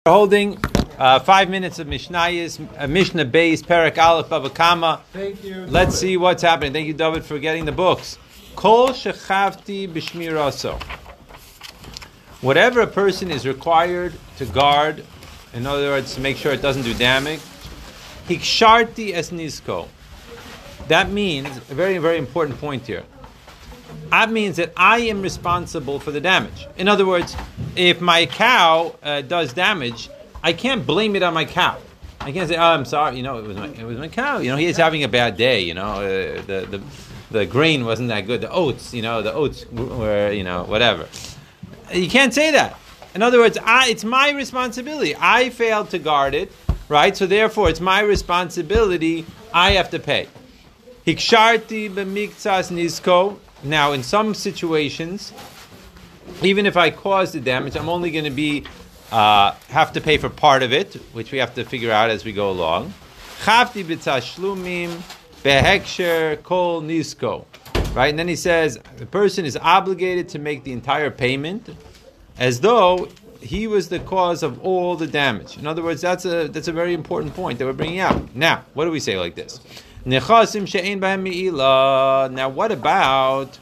We're holding 5 minutes of Mishnayos, Mishnah Beis, Perek Aleph, Bava Kama. Thank you. Let's see what's happening. Thank you, David, for getting the books. Kol shechavti b'shmiraso. Whatever a person is required to guard, in other words, to make sure it doesn't do damage, hiksharti es nizko. That means, a very, very important point here. That means that I am responsible for the damage. In other words, if my cow does damage, I can't blame it on my cow. I can't say, "Oh, I'm sorry. It was my cow. He's having a bad day. The grain wasn't that good. The oats were, whatever." You can't say that. In other words, it's my responsibility. I failed to guard it, right? So therefore, it's my responsibility. I have to pay. Hiksharti b'miktsas nizko. Now, in some situations, even if I cause the damage, I'm only going to have to pay for part of it, which we have to figure out as we go along. Chavti b'tashlumim beheksher kol nisko. Right, and then he says the person is obligated to make the entire payment, as though he was the cause of all the damage. In other words, that's a very important point that we're bringing out. Now, what do we say like this? Nechasim she'ein b'hem me'ila. Now, what about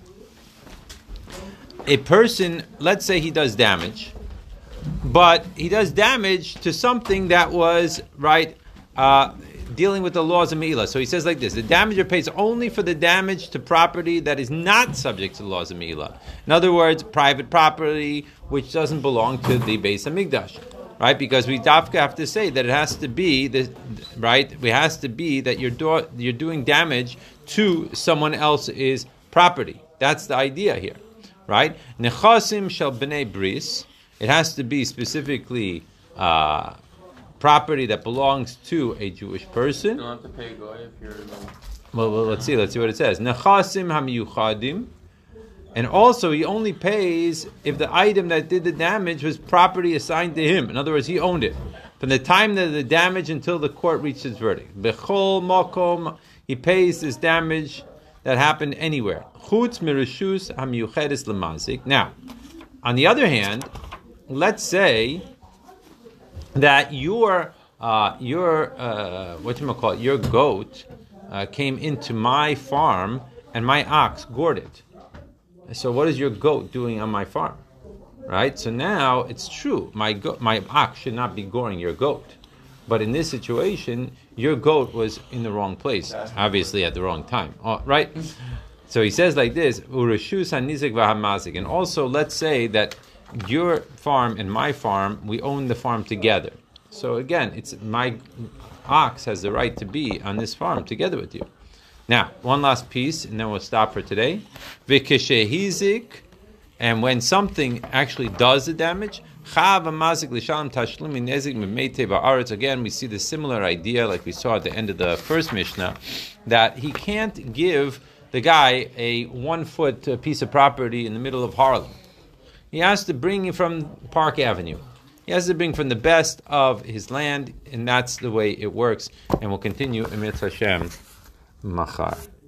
a person, let's say he does damage, but he does damage to something that was, dealing with the laws of me'ila. So he says like this: the damager pays only for the damage to property that is not subject to the laws of me'ila. In other words, private property which doesn't belong to the Beis Hamikdash. Right, because we have to say that it has to be It has to be that you're doing damage to someone else's property. That's the idea here, right? Nechasim shel bnei bris. It has to be specifically property that belongs to a Jewish person. You don't have to pay goy if you're. Well, let's see what it says. Nechasim hamiyuchadim. And also, he only pays if the item that did the damage was property assigned to him. In other words, he owned it. From the time that the damage until the court reached its verdict. Bechol makom, he pays this damage that happened anywhere. Chutz mirishus hamiyuchedes lemazik. Now, on the other hand, let's say that your goat came into my farm and my ox gored it. So what is your goat doing on my farm? Right? So now it's true. My ox should not be goring your goat. But in this situation, your goat was in the wrong place. Obviously at the wrong time. Right? So he says like this, Ureshus hanizik v'hamazik. And also let's say that your farm and my farm, we own the farm together. So again, it's my ox has the right to be on this farm together with you. Now, one last piece, and then we'll stop for today. V'keshehizik, and when something actually does the damage, again, we see the similar idea like we saw at the end of the first Mishnah, that he can't give the guy a 1-foot piece of property in the middle of Harlem. He has to bring it from Park Avenue. He has to bring from the best of his land, and that's the way it works. And we'll continue in Mitzvah Hashem. Machar.